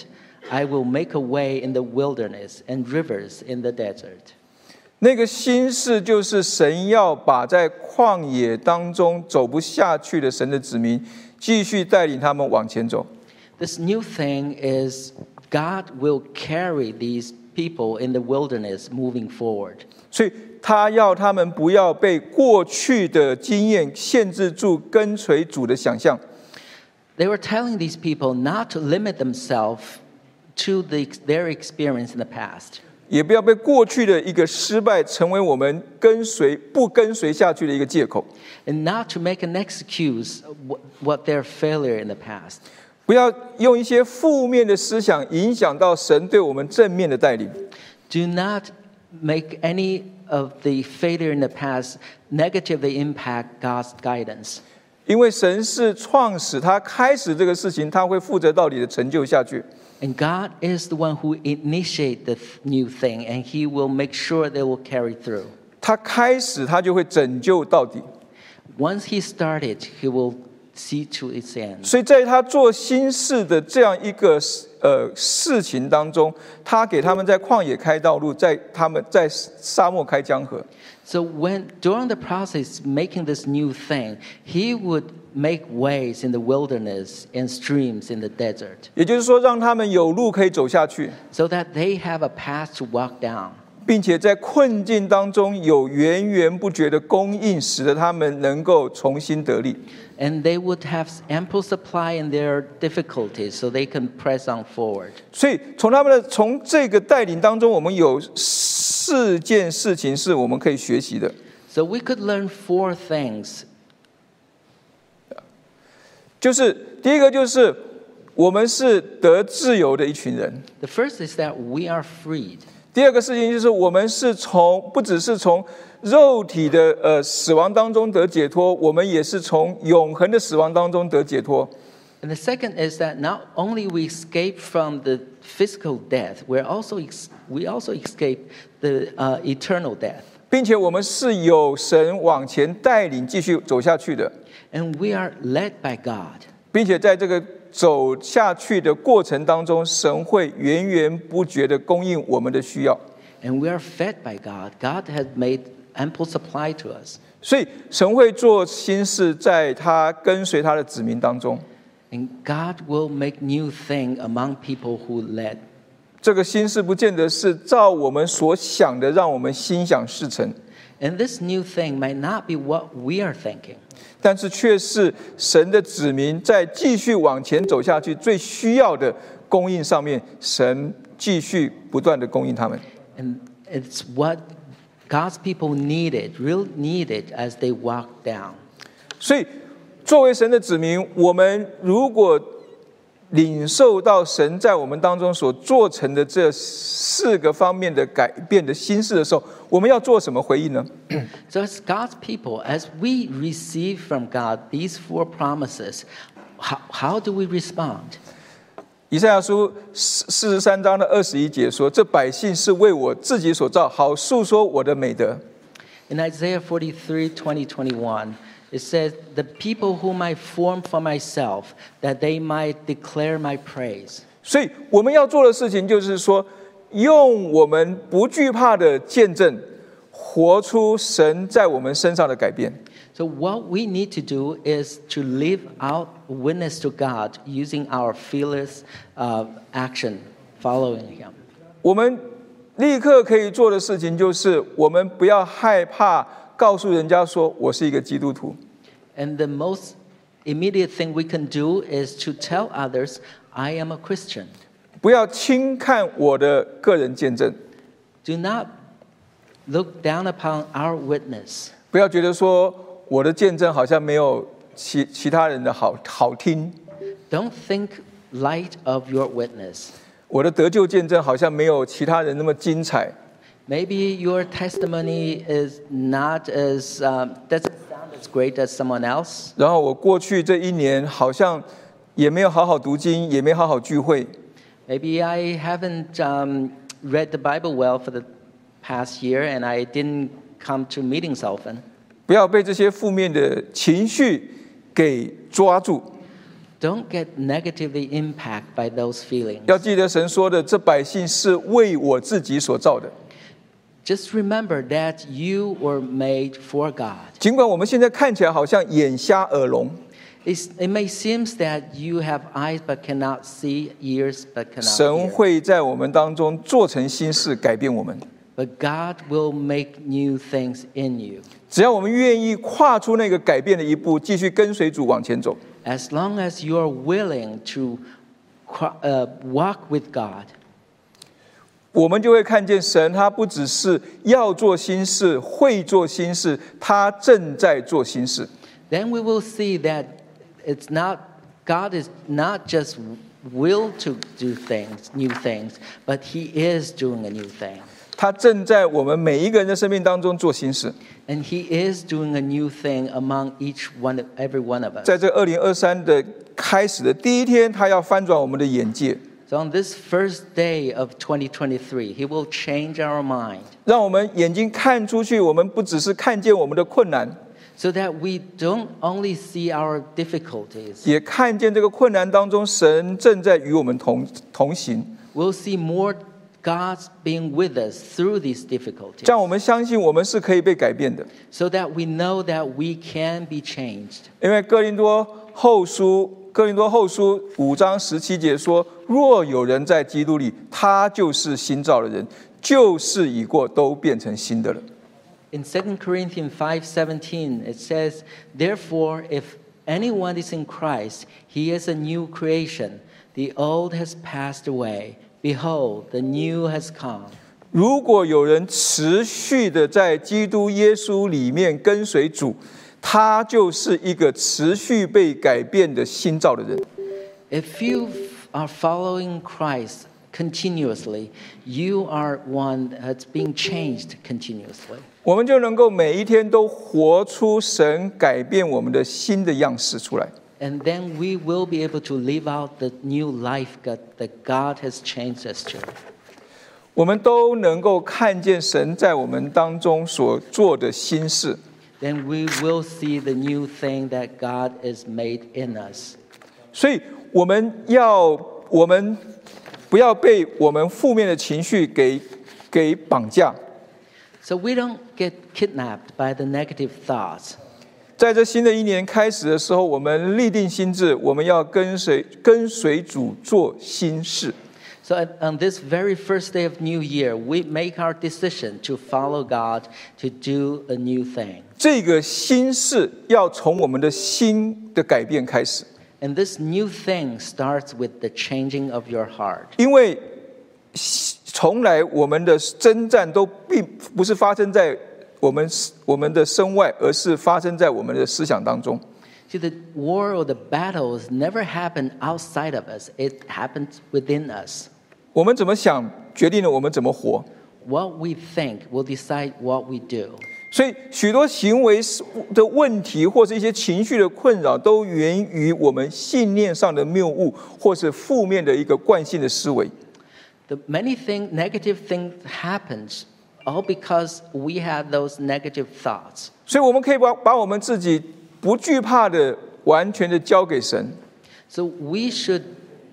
I will make a way in the wilderness and rivers in the desert. 那个新事就是神要把在旷野当中走不下去的神的子民，继续带领他们往前走。 This new thing is God will carry these people in the wilderness moving forward. 所以他要他们不要被过去的经验限制住跟随主的想象。 They were telling these people not to limit themselves to the, their experience in the past. 也不要被过去的一个失败成为我们跟随不跟随下去的一个借口。 And not to make an excuse of what their failure in the past. 不要用一些负面的思想影响到神对我们正面的带领。 Do not make any of the failure in the past negatively impact God's guidance. 因为神是创始，他开始这个事情，他会负责到底的成就下去。 And God is the one who initiates the new thing, and He will make sure they will carry through. 他开始，他就会拯救到底。 Once He started, He will see to its end. 所以在他做新事的这样一个呃事情当中，他给他们在旷野开道路，在他们在沙漠开江河。 So when during the process making this new thing, He would make ways in the wilderness and streams in the desert. 也就是说，让他们有路可以走下去， So that they have a path to walk down. 并且在困境当中有源源不绝的供应，使得他们能够重新得力。 And they would have ample supply in their difficulties, so they can press on forward. 所以从他们的从这个带领当中，我们有四件事情是我们可以学习的。 So we could learn four things. 就是第一个，就是我们是得自由的一群人。 The first is that we are freed. 第二个事情就是我们是从不只是从肉体的呃死亡当中得解脱，我们也是从永恒的死亡当中得解脱。 And the second is that not only we escape from the physical death, we're also ex- we also escape the uh, eternal death. 并且我们是有神往前带领继续走下去的， And we are led by God. 并且在这个走下去的过程当中，神会源源不绝的供应我们的需要。 And we are fed by God. God has made ample supply to us. 所以神会做新事，在他跟随他的子民当中。 And God will make new thing among people who led. 这个新事不见得是照我们所想的，让我们心想事成。 And this new thing might not be what we are thinking. 但是却是神的子民在继续往前走下去最需要的供应上面，神继续不断的供应他们。 And it's what God's people needed, real needed as they walk down. 所以作为神的子民，我们如果领受到神在我们当中所做成的这四个方面的改变的心事的时候，我们要做什么回应呢？ So as God's people, as we receive from God these four promises, how, how do we respond? 以赛亚书四十三章的二十一节说：“这百姓是为我自己所造，好述说我的美德。” In Isaiah forty-three, twenty, twenty-one, it says, "The people whom I formed for myself, that they might declare my praise." 所以我们要做的事情就是说，用我们不惧怕的见证，活出神在我们身上的改变。 So what we need to do is to live out witness to God using our fearless uh, action, following Him. 我们立刻可以做的事情就是，我们不要害怕告诉人家说我是一个基督徒。 And the most immediate thing we can do is to tell others, I am a Christian. 不要轻看我的个人见证， Do not look down upon our witness. 不要觉得说我的见证好像没有其其他人的好好听， Don't think light of your witness. 我的得救见证好像没有其他人那么精彩。 Maybe your testimony is not as, um, doesn't sound as great as someone else. 然后我过去这一年好像也没有好好读经，也没好好聚会。 Maybe I haven't um, read the Bible well for the past year and I didn't come to meetings often. 不要被这些负面的情绪给抓住。 don't get negatively impacted by those feelings. 要记得神说的，这百姓是为我自己所造的。 Just remember that you were made for God. 尽管我们现在看起来好像眼瞎耳聋， It's, it may seem that you have eyes but cannot see, ears but cannot 神 hear. 会在我们当中做成新事，改变我们。 But God will make new things in you. 只要我们愿意跨出那个改变的一步，继续跟随主往前走， As long as you are willing to uh, walk with God, 我们就会看见神，他不只是要做新事，会做新事，他正在做新事。 then we will see that it's not, God is not just will to do things, new things, but He is doing a new thing. 他正在我们每一个人的生命当中做新事。 And He is doing a new thing among each one, every one of us. 在这二零二三的开始的第一天，他要翻转我们的眼界， So on this first day of twenty twenty-three, He will change our mind 让我们眼睛看出去，我们不只是看见我们的困难， so that we don't only see our difficulties, 也看见这个困难当中，神正在与我们同同行， we'll see more God's being with us through these difficulties, 让我们相信我们是可以被改变的。 so that we know that we can be changed. 因为哥林多后书哥林多后书五章十七节说：“若有人在基督里，他就是新造的人，旧事已过，都变成新的了。” In Second Corinthians five seventeen, it says, "Therefore, if anyone is in Christ, he is a new creation. The old has passed away. Behold, the new has come." 如果有人持续的在基督耶稣里面跟随主，他就是一个持续被改变的新造的人。 If you are following Christ continuously, you are one that's being changed continuously. 我们就能够每一天都活出神改变我们的新的样式出来。 And then we will be able to live out the new life God, that God has changed us to. 我们都能够看见神在我们当中所做的新事。 Then we will see the new thing that God has made in us. 所以我们要我们不要被我们负面的情绪给给绑架。 So we don't get kidnapped by the negative thoughts. 在这新的一年开始的时候，我们立定心志，我们要跟随跟随主做新事。 So on this very first day of New Year, we make our decision to follow God, to do a new thing. 这个新事要从我们的心的改变开始， And this new thing starts with the changing of your heart. 因为从来我们的征战都并不是发生在我们我们的身外，而是发生在我们的思想当中。 See, the war or the battles never happen outside of us. It happens within us. 我们怎么想，决定了我们怎么活。 What we think will decide what we do. 所以，许多行为的问题，或是一些情绪的困扰，都源于我们信念上的谬误，或是负面的一个惯性的思维。 The many thing, negative things happens all because we have those negative thoughts. 所以，我们可以把把我们自己不惧怕的，完全的交给神。 So we should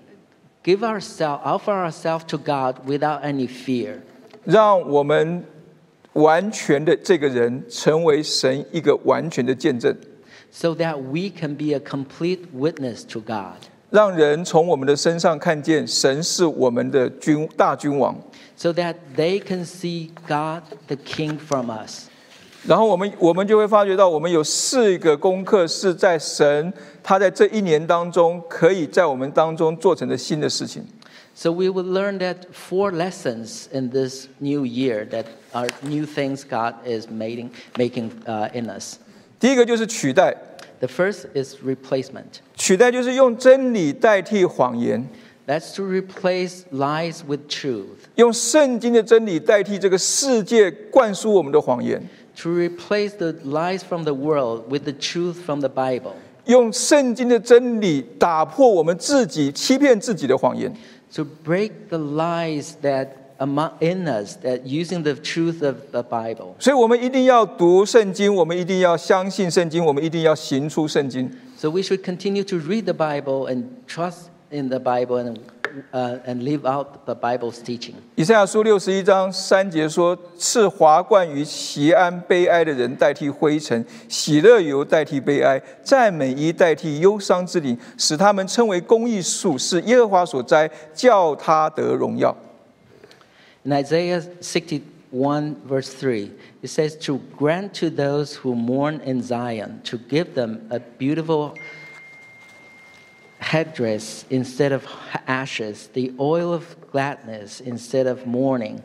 give ourselves, offer ourselves to God without any fear. 让我们完全的这个人成为神一个完全的见证， So that we can be a complete witness to God. 让人从我们的身上看见神是我们的君大君王。 So that they can see God the King from us. 然后我们我们就会发觉到，我们有四个功课是在神他在这一年当中可以在我们当中做成的新的事情。 So we will learn that four lessons in this new year that are new things God is making, making uh, in us. 第一个就是取代， The first is replacement. 取代就是用真理代替谎言， That's to replace lies with truth. 用圣经的真理代替这个世界灌输我们的谎言， To replace the lies from the world with the truth from the Bible. 用圣经的真理打破我们自己欺骗自己的谎言。 To break the lies that among in us, that using the truth of the Bible. 所以我们一定要读圣经，我们一定要相信圣经，我们一定要行出圣经。 So we should continue to read the Bible and trust in the Bible and, uh, and live out the Bible's teaching. 以赛亚书六十一章三节说：“是华冠于锡安悲哀的人代替灰尘，喜乐油代替悲哀，赞美衣代替忧伤之灵，使他们称为公义树，是耶和华所栽，叫他得荣耀。” In Isaiah sixty-one, verse three, it says, "To grant to those who mourn in Zion, to give them a beautiful headdress instead of ashes, the oil of gladness instead of mourning,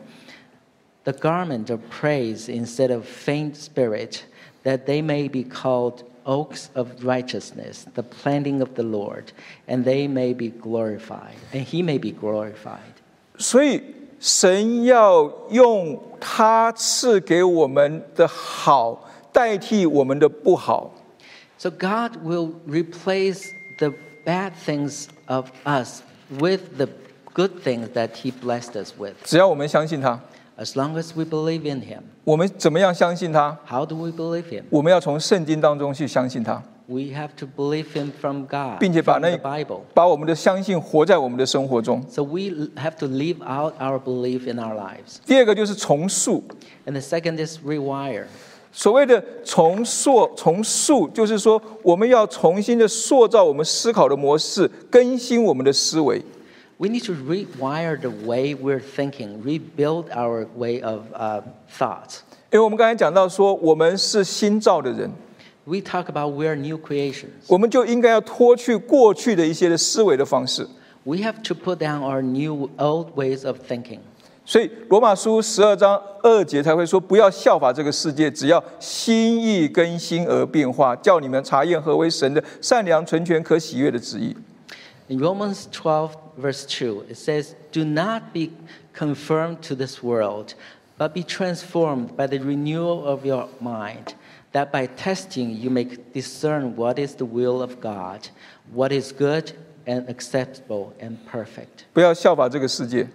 the garment of praise instead of faint spirit, that they may be called oaks of righteousness, the planting of the Lord, and they may be glorified, and he may be glorified." 所以神要用他赐给我们的好代替我们的不好。 So God will replace the bad things of us with the good things that he blessed us with. 只要我们相信他， As long as we believe in him. 我们怎么样相信他？ How do we believe him? 我们要从圣经当中去相信他， We have to believe him from God, 并且把 from 那 the Bible. 把我们的相信活在我们的生活中。 So we have to live out our belief in our lives. 第二个就是重塑， And the second is rewire. 所谓的重塑，重塑就是说，我们要重新的塑造我们思考的模式，更新我们的思维。 We need to rewire the way we're thinking, rebuild our way of uh, thoughts. 因为我们刚才讲到说，我们是新造的人， We talk about we're new creations. 我们就应该要脱去过去的一些的思维的方式。 We have to put down our new old ways of thinking. 所以罗马书十二章二节才会说，不要效法这个世界，只要心意更新而变化，叫你们查验何为神的善良、纯全、可喜悦的旨意。 In Romans twelve, verse two, it says, "Do not be conformed to this world, but be transformed by the renewal of your mind, that by testing you may discern what is the will of God, what is good and acceptable and perfect." 不要效法这个世界，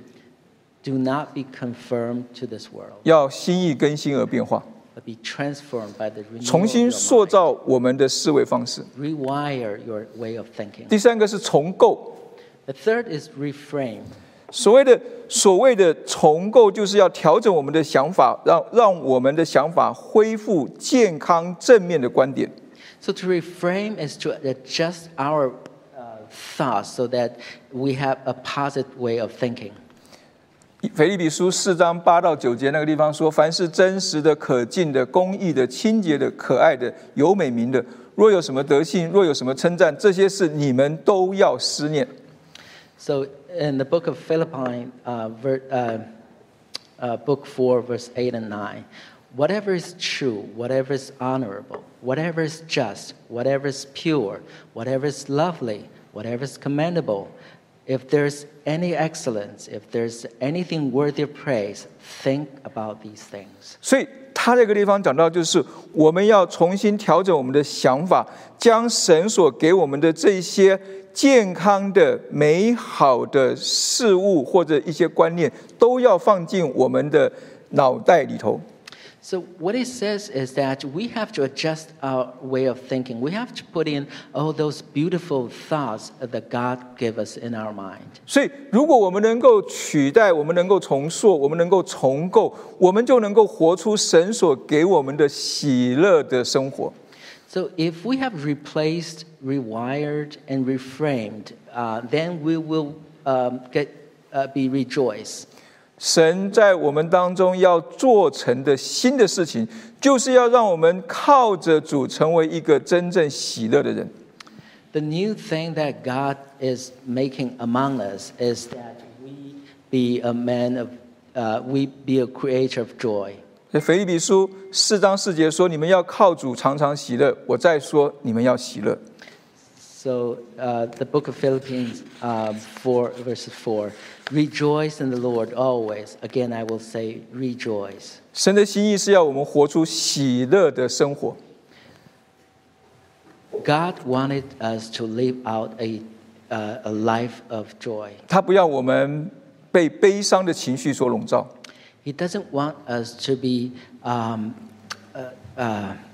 Do not be conformed to this world, 要心意更新而变化， but be transformed by the renewal 重 of 新 your 塑 mind. 造我们的思维方式。 Rewire your way of thinking. 第三个是重构， The third is reframe. 所谓的所谓的重构，就是要调整我们的想法，让让我们的想法恢复健康正面的观点。 So to reframe is to adjust our uh, thoughts so that we have a positive way of thinking. 腓立比书四章八到九节那个地方说：“凡是真实的、可敬的、公义的、清洁的、可爱的、有美名的，若有什么德性，若有什么称赞，这些事你们都要思念。” So in the book of Philippi, uh, ver, uh, uh, book four, verse eight and nine, whatever is true, whatever is honorable, whatever is just, whatever is pure, whatever is lovely, whatever is commendable, if there's any excellence, if there's anything worthy of praise, think about these things. 所以他这个地方讲到，就是我们要重新调整我们的想法，将神所给我们的这些健康的、美好的事物或者一些观念，都要放进我们的脑袋里头。 So what it says is that we have to adjust our way of thinking. We have to put in all those beautiful thoughts that God gave us in our mind. 所以，如果我们能够取代，我们能够重塑，我们能够重构，我们就能够活出神所给我们的喜乐的生活。 So if we have replaced, rewired, and reframed, uh, then we will um, get uh, be rejoiced. 神在我们当中要做成的新的事情，就是要让我们靠着主成为一个真正喜乐的人。 The new thing that God is making among us is that we be a man of, uh, we be a creator of joy. 所以腓立比书四章四节说：“你们要靠主常常喜乐。”我再说，你们要喜乐。 So uh, the book of Philippians um, four, verse four, rejoice in the Lord always. Again, I will say rejoice. 神的心意是要我们活出喜乐的生活。 God wanted us to live out a, uh, a life of joy. 他不要我们被悲伤的情绪所笼罩。 He doesn't want us to be um, uh, uh,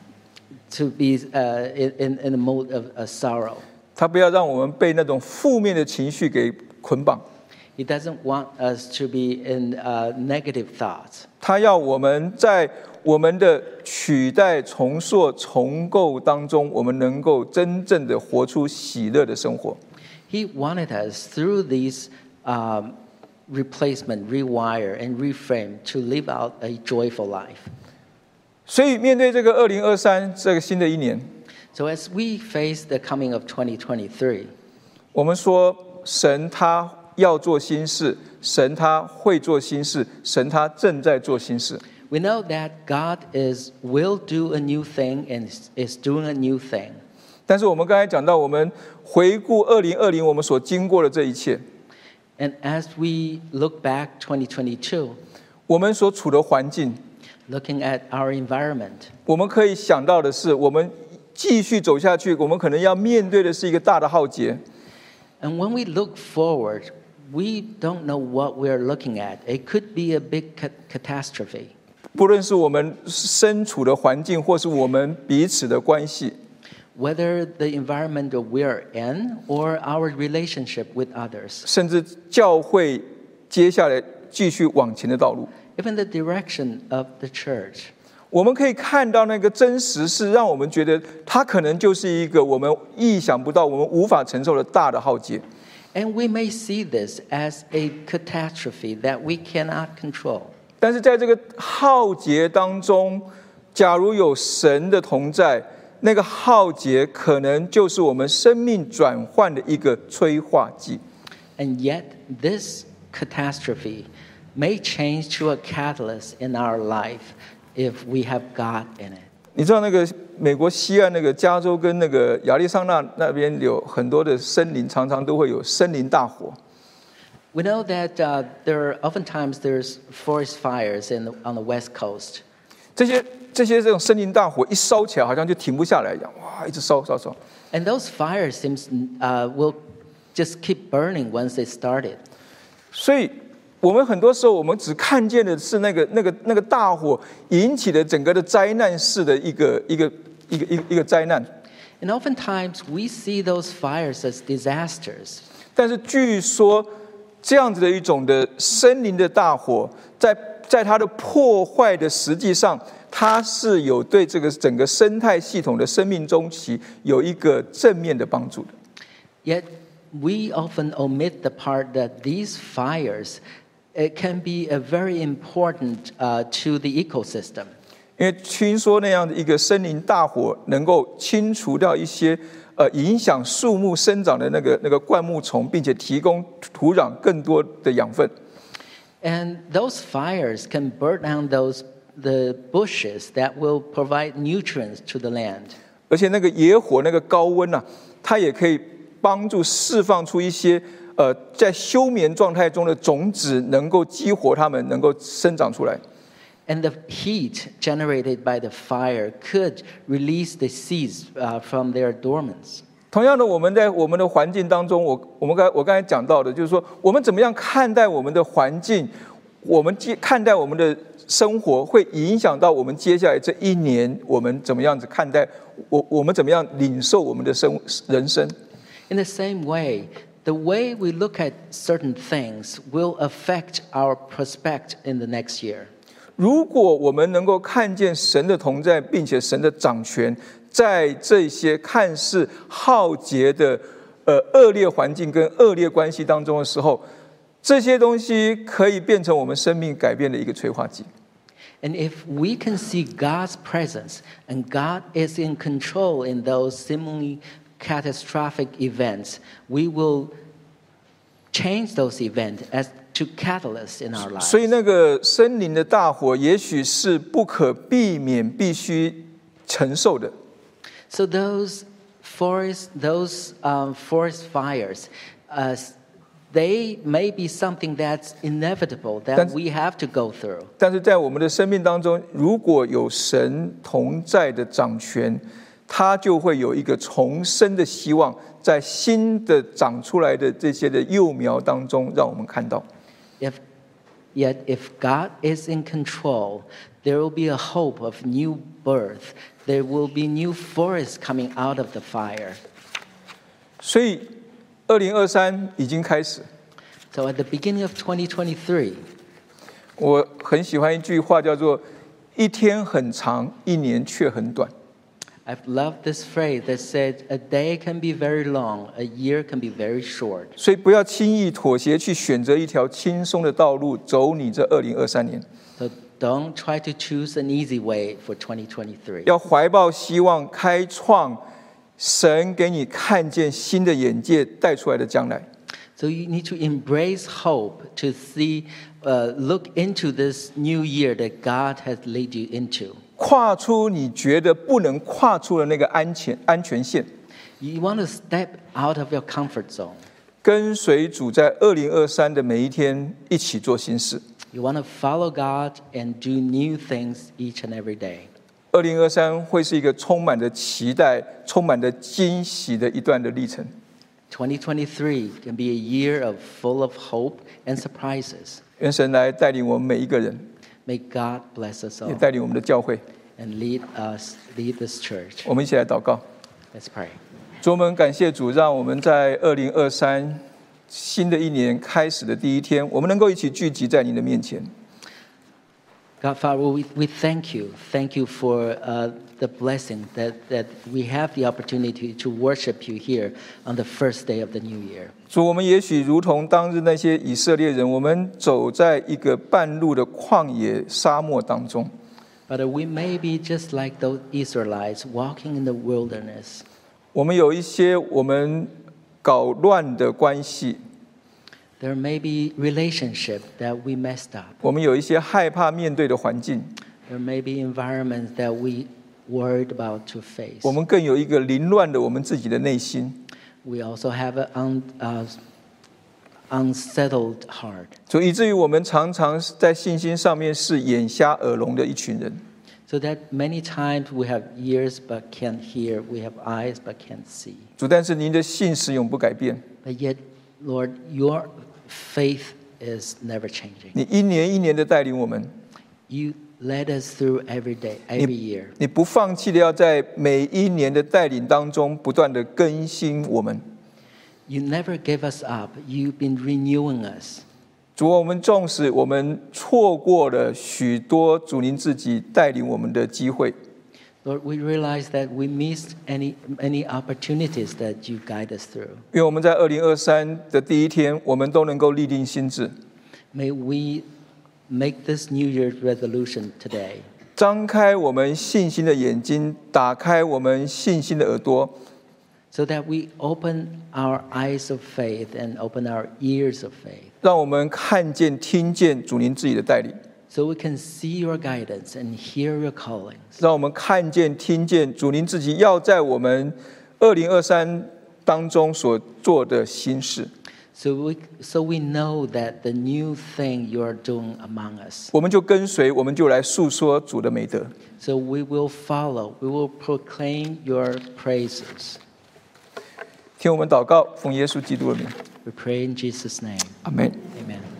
to be uh, in, in a mode of uh, sorrow. 他不要让我们被那种负面的情绪给捆绑。 He doesn't want us to be in uh, negative thoughts. 他要我们在我们的取代、重塑、重构当中，我们能够真正的活出喜乐的生活。 He wanted us through these um, replacement, rewire, and reframe to live out a joyful life. 所以面对这个二零二三这个新的一年， So as we face the coming of twenty twenty-three, 我们说神他要做新事，神他会做新事，神他正在做新事。 we know that God is will do a new thing and is- is doing a new thing. 但是我们刚才讲到，我们回顾二零二零我们所经过的这一切， And as we look back twenty twenty-two, 我们所处的环境， looking at our environment, 我们可以想到的是，我们继续走下去，我们可能要面对的是一个大的浩劫。 and when we look forward, we don't know what we're looking at. It could be a big ca- catastrophe. 不论是我们身处的环境，或是我们彼此的关系， Whether the environment that we're in or our relationship with others, 甚至教会接下来继续往前的道路， even the direction of the church. 我们可以看到那个真实是让我们觉得它可能就是一个我们意想不到、我们无法承受的大的浩劫。 And we may see this as a catastrophe that we cannot control. 但是在这个浩劫当中，假如有神的同在，那个浩劫可能就是我们生命转换的一个催化剂。 And yet, this catastrophe may change to a catalyst in our life if we have God in it. 你知道那个美国西岸那个加州跟那个亚利桑那那边有很多的森林，常常都会有森林大火。 We know that uh, there are oftentimes there's forest fires in the, on the West Coast. 这些这些这种森林大火一烧起来，好像就停不下来一样，哇，一直烧烧烧。 And those fires seems uh, will just keep burning once they started. 所以我们很多时候，我们只看见的是那个那个那个大火引起的整个的灾难式的一个一个一个一个一个灾难。 And oftentimes we see those fires as disasters. 但是据说这样子的一种的森林的大火，在在它的破坏的实际上，它是有对这个整个生态系统的生命周期有一个正面的帮助的。 Yet we often omit the part that these fires it can be a very important uh, to the ecosystem. 因为听说那样的一个森林大火能够清除掉一些呃影响树木生长的那个那个灌木丛，并且提供土壤更多的养分。 And those fires can burn down those the bushes that will provide nutrients to the land. 而且那个野火那个高温啊，它也可以帮助释放出一些呃在休眠状态中的种子，能够激活它们，能够生长出来。 And the heat generated by the fire could release the seeds uh, from their dormants. 同样的，我们在我们的环境当中，我我们刚我刚才讲到的，就是说，我们怎么样看待我们的环境，我们接看待我们的生活，会影响到我们接下来这一年，我们怎么样子看待我我们怎么样领受我们的生人生。 In the same way, the way we look at certain things will affect our prospect in the next year. 如果我们能够看见神的同在，并且神的掌权，在这些看似浩劫的呃恶劣环境跟恶劣关系当中的时候，这些东西可以变成我们生命改变的一个催化剂。 And if we can see God's presence and God is in control in those seemingly catastrophic events, we will change those events as to catalysts in our lives. 所以那个森林的大火，也许是不可避免、必须承受的。 So those forest, those um, forest fires, uh, they may be something that's inevitable that 但- we have to go through. 但是在我们的生命当中，如果有神同在的掌权，它就会有一个重生的希望，在新的长出来的这些的幼苗当中，让我们看到。 If, yet if God is in control, There will be a hope of new birth. There will be new forests coming out of the fire. 所以，二零二三已经开始。 So at the beginning of twenty twenty-three, 我很喜欢一句话，叫做“一天很长，一年却很短”。 I've loved this phrase that said, a day can be very long, a year can be very short. 所以不要轻易妥协，去选择一条轻松的道路，走你这二零二三年。 So don't try to choose an easy way for twenty twenty-three. 要怀抱希望，开创神给你看见新的眼界带出来的将来。 So you need to embrace hope to see, uh, look into this new year that God has led you into. 跨出你觉得不能跨出的那个安全安全线， You want to step out of your comfort zone. 跟随主在二零二三的每一天一起做新事。 You want to follow God and do new things each and every day. 二零二三会是一个充满着期待、充满着惊喜的一段的历程。 twenty twenty-three can be a year of full of hope and surprises. 愿神来带领我们每一个人， May God bless us 也 all 带领我们的教会。 and lead us, lead this church. 我们一起来祷告。 Let's pray. 主，我们感谢主，让我们在二零二三新的一年开始的第一天，我们能够一起聚集在你的面前。 God, Father, we, we thank you. Thank you for uh, the blessing that, that we have the opportunity to worship you here on the first day of the new year. 主，我们也许如同当日那些以色列人，我们走在一个半路的旷野沙漠当中。 But we may be just like those Israelites walking in the wilderness. 我们有一些我们搞乱的关系， There may be relationship that we messed up. 我们有一些害怕面对的环境， There may be environments that we worried about to face. 我们更有一个凌乱的我们自己的内心。 We also have an un, uh, unsettled heart. 所以以至于我们常常在信心上面是眼瞎耳聋的一群人。 So that many times we have ears but can't hear, we have eyes but can't see. 主，但是您的信实永不改变， But yet, Lord, your faith is never changing. 你一年一年的带领我们， You led us through every day, every year. 你不放弃的要在每一年的带领当中不断的更新我们。 You never give us up. You've been renewing us. 主，我们纵使我们错过了许多主您自己带领我们的机会， Lord, we realize that we missed any, any opportunities that you guide us through. 愿我们在二零二三的第一天，我们都能够立定心志， May we make this New Year's resolution today. 张开我们信心的眼睛，打开我们信心的耳朵， So that we open our eyes of faith and open our ears of faith. 让我们看见、听见主您自己的带领， So we can see your guidance and hear your callings. 让我们看见、听见主您自己要在我们二零二三当中所做的新事。 So we, so we know that the new thing you are doing among us. 我们就跟随，我们就来诉说主的美德。 So we will follow, we will proclaim your praises. 听我们祷告，奉耶稣基督的名， We pray in Jesus' name. 阿门。 Amen.